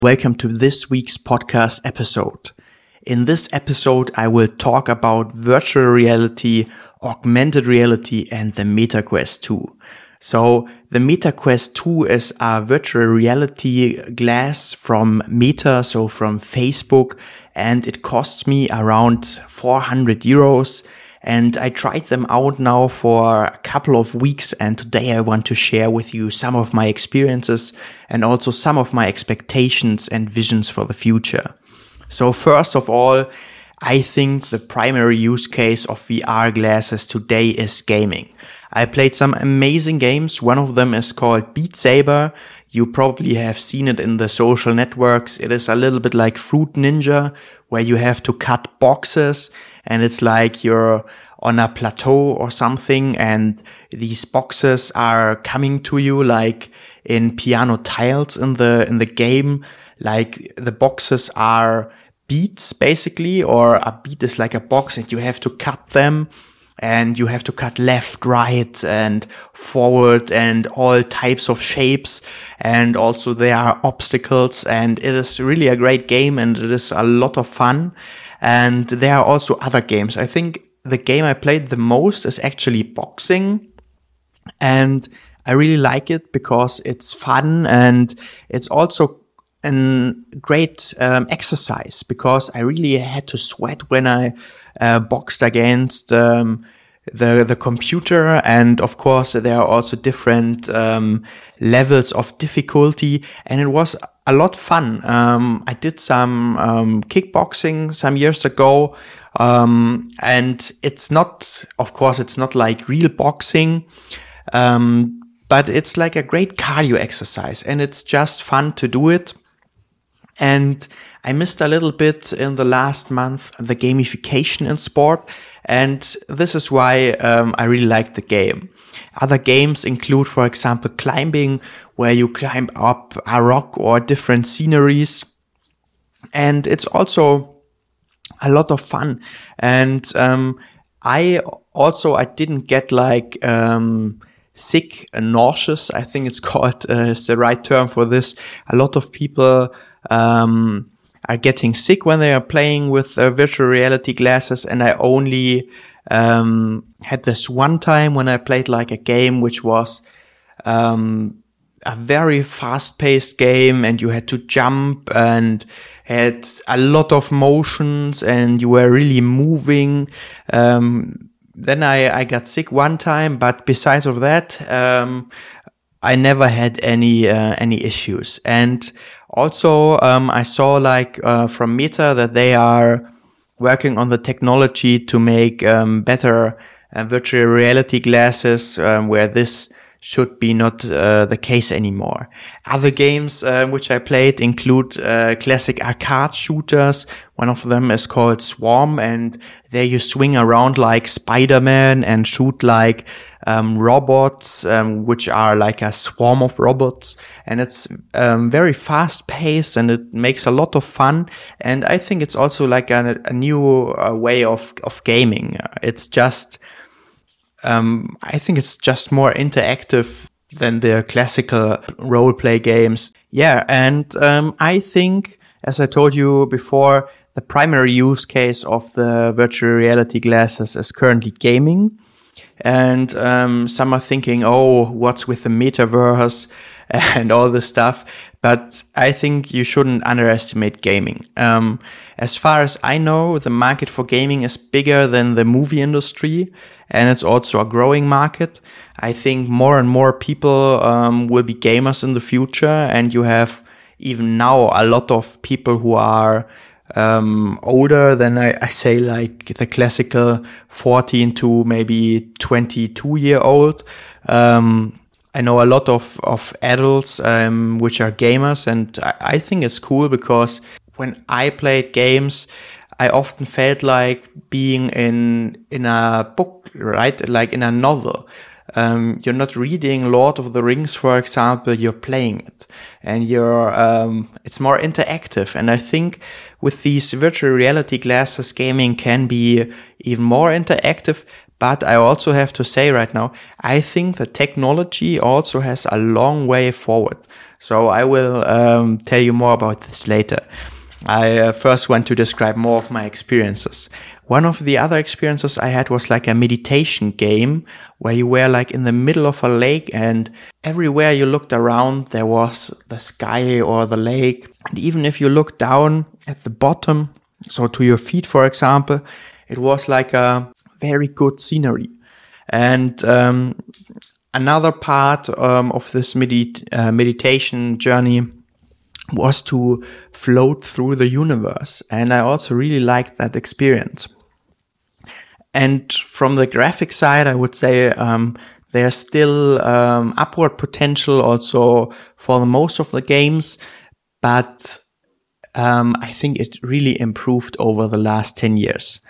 Welcome to this week's podcast episode. In this episode, I will talk about virtual reality, augmented reality, and the MetaQuest 2. So the MetaQuest 2 is a virtual reality glass from Meta, so from Facebook, and it costs me around 400 euros. And I tried them out now for a couple of weeks, and today I want to share with you some of my experiences and also some of my expectations and visions for the future. So first of all, I think the primary use case of VR glasses today is gaming. I played some amazing games. One of them is called Beat Saber. You probably have seen it in the social networks. It is a little bit like Fruit Ninja, where you have to cut boxes, and it's like you're on a plateau or something, and these boxes are coming to you like in piano tiles in the game. Like the boxes are beats basically, or a beat is like a box and you have to cut them, and you have to cut left, right, and forward, and all types of shapes. And also there are obstacles, and it is really a great game, and it is a lot of fun. And there are also other games. I think the game I played the most is actually boxing. And I really like it because it's fun, and it's also a great exercise, because I really had to sweat when I boxed against the computer. And of course there are also different levels of difficulty, and it was a lot fun. I did some kickboxing some years ago, and it's not like real boxing, but it's like a great cardio exercise, and it's just fun to do it. And I missed a little bit in the last month the gamification in sport, and this is why I really like the game. Other games include, for example, climbing, where you climb up a rock or different sceneries, and it's also a lot of fun. And I didn't get like sick and nauseous, I think it's called, is the right term for this. A lot of people are getting sick when they are playing with virtual reality glasses, and I only had this one time when I played like a game which was a very fast-paced game, and you had to jump and had a lot of motions, and you were really moving. Then I got sick one time, but besides of that, I never had any issues. And also, I saw from Meta that they are working on the technology to make better virtual reality glasses, where this should be not the case anymore. Other games which I played include classic arcade shooters. One of them is called Swarm, and there you swing around like Spider-Man and shoot like robots, which are like a swarm of robots. And it's very fast-paced, and it makes a lot of fun. And I think it's also like a new way of gaming. It's just I think it's just more interactive than the classical role-play games. Yeah, and I think, as I told you before, the primary use case of the virtual reality glasses is currently gaming. And some are thinking, oh, what's with the metaverse and all this stuff? But I think you shouldn't underestimate gaming. As far as I know, the market for gaming is bigger than the movie industry, and it's also a growing market. I think more and more people will be gamers in the future, and you have even now a lot of people who are older than I say like the classical 14 to maybe 22-year-old. I know a lot of adults which are gamers, and I think it's cool, because when I played games, I often felt like being in a book, right? Like in a novel. You're not reading Lord of the Rings, for example, you're playing it, and it's more interactive. And I think with these virtual reality glasses, gaming can be even more interactive. But I also have to say right now, I think the technology also has a long way forward. So I will tell you more about this later. I first want to describe more of my experiences. One of the other experiences I had was like a meditation game where you were like in the middle of a lake, and everywhere you looked around there was the sky or the lake. And even if you looked down at the bottom, so to your feet, for example, it was like a very good scenery. And another part of this meditation journey was to float through the universe. And I also really liked that experience. And from the graphic side, I would say there's still upward potential also for the most of the games. But I think it really improved over the last 10 years.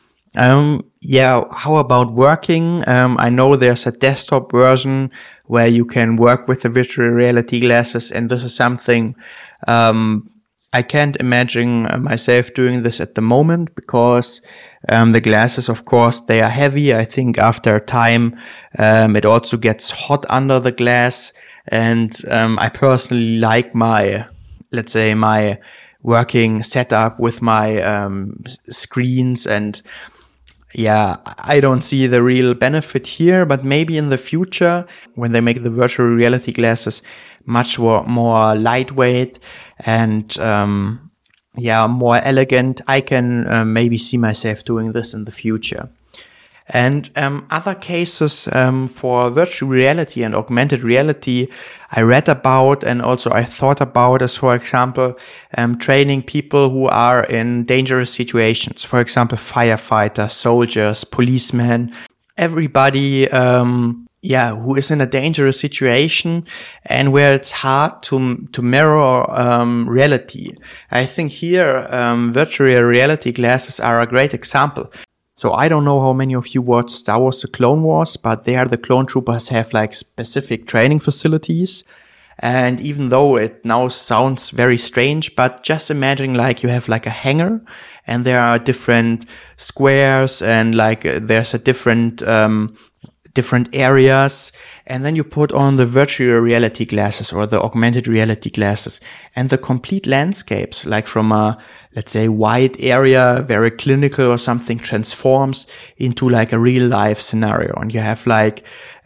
How about working? I know there's a desktop version where you can work with the virtual reality glasses, and this is something I can't imagine myself doing this at the moment, because the glasses, of course, they are heavy. I think after a time, it also gets hot under the glass, and I personally like my working setup with my screens, and I don't see the real benefit here, but maybe in the future, when they make the virtual reality glasses much more lightweight and more elegant, I can maybe see myself doing this in the future. And other cases for virtual reality and augmented reality I read about and also I thought about is, for example, training people who are in dangerous situations. For example, firefighters, soldiers, policemen, everybody who is in a dangerous situation and where it's hard to mirror reality. I think here virtual reality glasses are a great example. So I don't know how many of you watched Star Wars: The Clone Wars, but there the clone troopers have like specific training facilities. And even though it now sounds very strange, but just imagine like you have like a hangar and there are different squares and like there's a different areas, and then you put on the virtual reality glasses or the augmented reality glasses, and the complete landscapes, like from a, let's say, wide area, very clinical or something, transforms into like a real life scenario. And you have like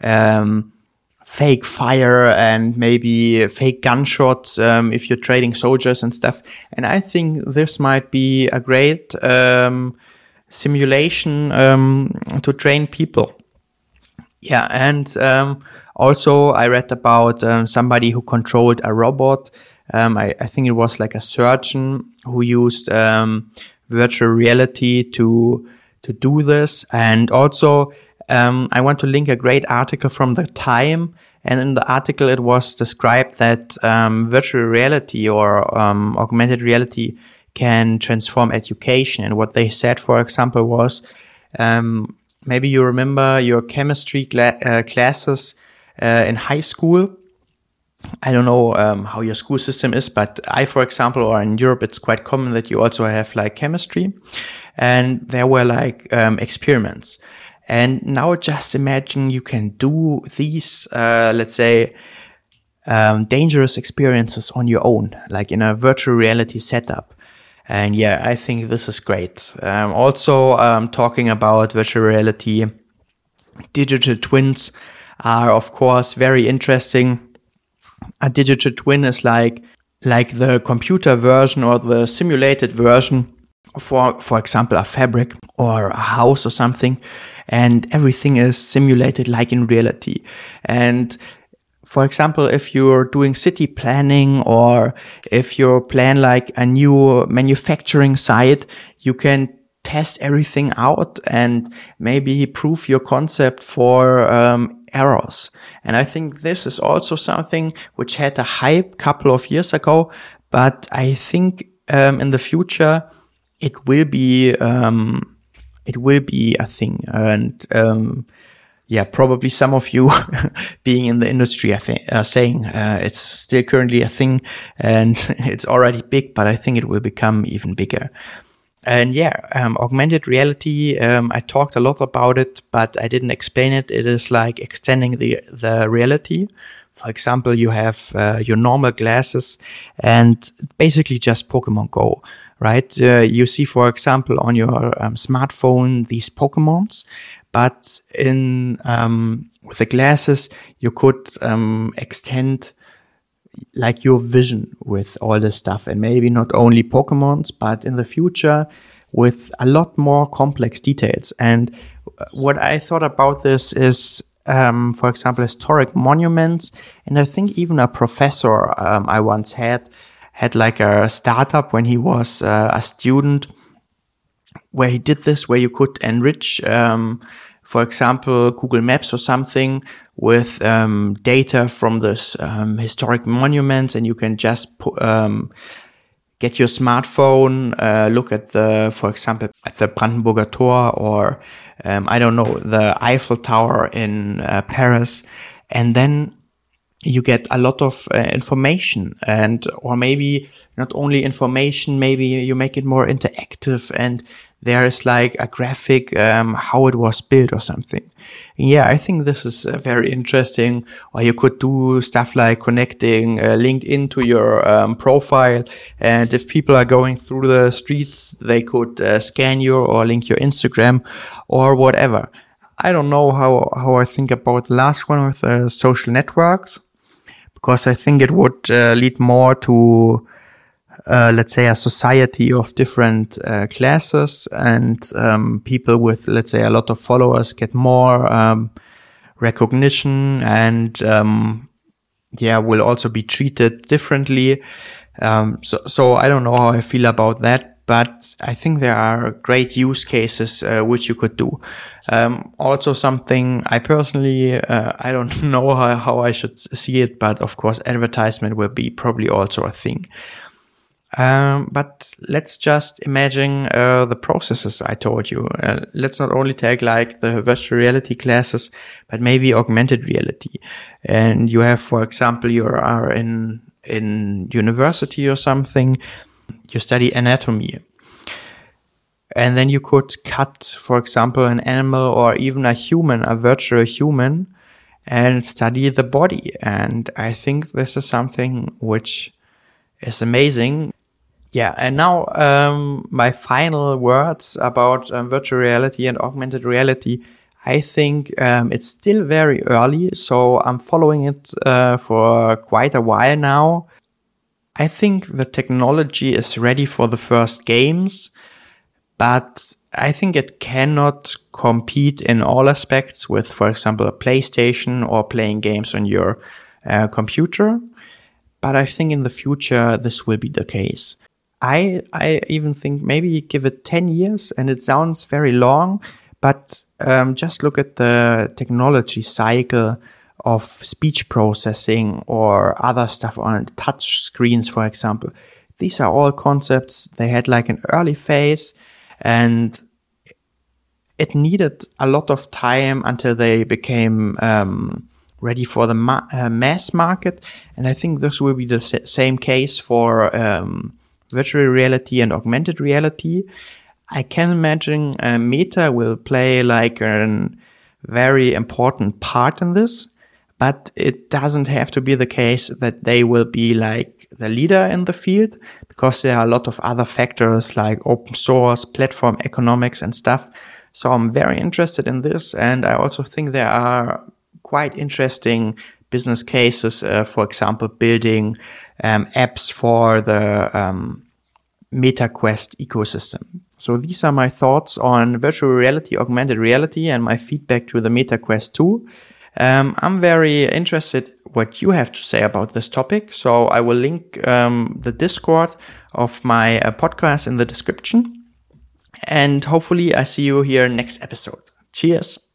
fake fire and maybe fake gunshots if you're trading soldiers and stuff. And I think this might be a great simulation to train people. Yeah, and also I read about somebody who controlled a robot. I think it was like a surgeon who used virtual reality to do this. And also I want to link a great article from the Time. And in the article it was described that virtual reality or augmented reality can transform education. And what they said, for example, was maybe you remember your chemistry classes in high school. I don't know how your school system is, but for example, or in Europe, it's quite common that you also have like chemistry. And there were like experiments. And now just imagine you can do these, dangerous experiences on your own, like in a virtual reality setup. And I think this is great. Also, talking about virtual reality, digital twins are, of course, very interesting. A digital twin is like the computer version or the simulated version for example, a fabric or a house or something. And everything is simulated like in reality. And for example, if you're doing city planning or if you plan like a new manufacturing site, you can test everything out and maybe prove your concept for errors. And I think this is also something which had a hype couple of years ago, but I think in the future it will be a thing. And probably some of you being in the industry are saying it's still currently a thing and it's already big, but I think it will become even bigger. And augmented reality, I talked a lot about it, but I didn't explain it. It is like extending the reality. For example, you have your normal glasses and basically just Pokemon Go, right? You see, for example, on your smartphone, these Pokemons, but with the glasses, you could extend like your vision with all this stuff, and maybe not only Pokemons, but in the future with a lot more complex details. And what I thought about this is, for example, historic monuments. And I think even a professor I once had like a startup when he was a student, where he did this, where you could enrich, for example, Google Maps or something with data from this historic monuments, and you can just get your smartphone, look at for example, at the Brandenburger Tor, or I don't know, the Eiffel Tower in Paris, and then you get a lot of information, or maybe not only information, maybe you make it more interactive, and there is like a graphic how it was built or something. And yeah, I think this is very interesting. Or you could do stuff like connecting LinkedIn to your profile, and if people are going through the streets, they could scan you or link your Instagram or whatever. I don't know how I think about the last one with social networks, because I think it would lead more to let's say a society of different classes, and people with, let's say, a lot of followers get more recognition, and will also be treated differently. So I don't know how I feel about that, but I think there are great use cases which you could do. Also something I personally, I don't know how I should see it, but of course advertisement will be probably also a thing. But let's just imagine the processes I told you. Let's not only take like the virtual reality classes, but maybe augmented reality. And you have, for example, you are in university or something, you study anatomy. And then you could cut, for example, an animal or even a human, a virtual human, and study the body. And I think this is something which is amazing. Yeah, and now my final words about virtual reality and augmented reality. I think it's still very early, so I'm following it for quite a while now. I think the technology is ready for the first games, but I think it cannot compete in all aspects with, for example, a PlayStation or playing games on your computer. But I think in the future, this will be the case. I even think maybe give it 10 years, and it sounds very long, but just look at the technology cycle of speech processing or other stuff on touch screens, for example. These are all concepts. They had like an early phase, and it needed a lot of time until they became ready for the mass market. And I think this will be the same case for virtual reality and augmented reality. I can imagine Meta will play like a very important part in this, but it doesn't have to be the case that they will be like the leader in the field, because there are a lot of other factors like open source, platform economics and stuff. So I'm very interested in this, and I also think there are quite interesting business cases, for example, building apps for the MetaQuest ecosystem. So these are my thoughts on virtual reality, augmented reality, and my feedback to the MetaQuest 2. I'm very interested what you have to say about this topic. So I will link the Discord of my podcast in the description. And hopefully I see you here next episode. Cheers.